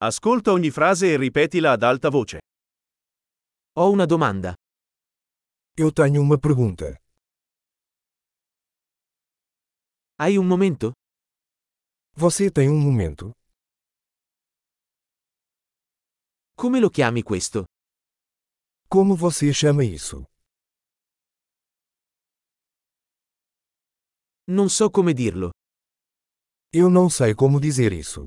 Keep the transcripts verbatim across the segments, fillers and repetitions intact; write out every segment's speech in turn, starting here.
Ascolta ogni frase e ripetila ad alta voce. Ho una domanda. Eu tenho uma pergunta. Hai un momento? Você tem um momento? Come lo chiami questo? Como você chama isso? Non so come dirlo. Eu não sei como dizer isso.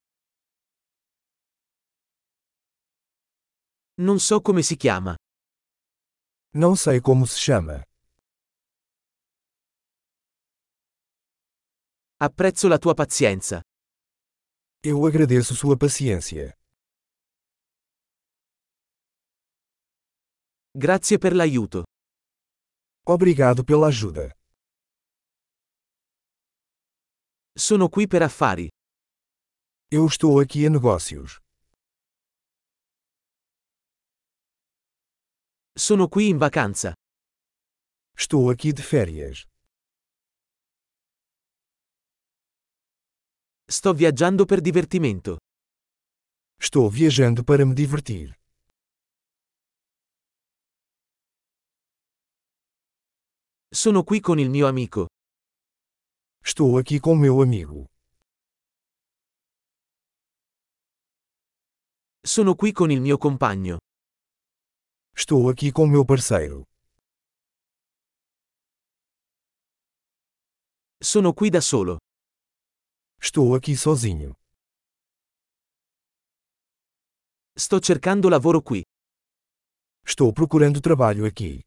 Non so come si chiama. Não sei como se chama. Apprezzo la tua pazienza. Eu agradeço sua paciência. Grazie per l'aiuto. Obrigado pela ajuda. Sono qui per affari. Eu estou aqui a negócios. Sono qui in vacanza. Estou aqui de férias. Sto viaggiando per divertimento. Estou viajando para me divertir. Sono qui con il mio amico. Estou aqui com meu amigo. Sono qui con il mio compagno. Estou aqui com meu parceiro. Sono qui da solo. Estou aqui sozinho. Sto cercando lavoro qui. Estou procurando trabalho aqui.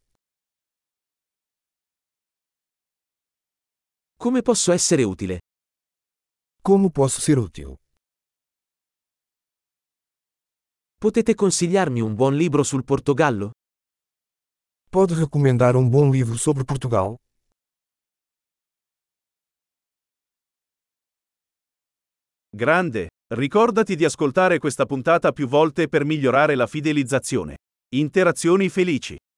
Come posso essere utile? Como posso ser útil? Potete consigliarmi un buon libro sul Portogallo? Pode recomendar um bom livro sobre Portugal? Grande! Ricordati di ascoltare questa puntata più volte per migliorare la fidelizzazione. Interazioni felici.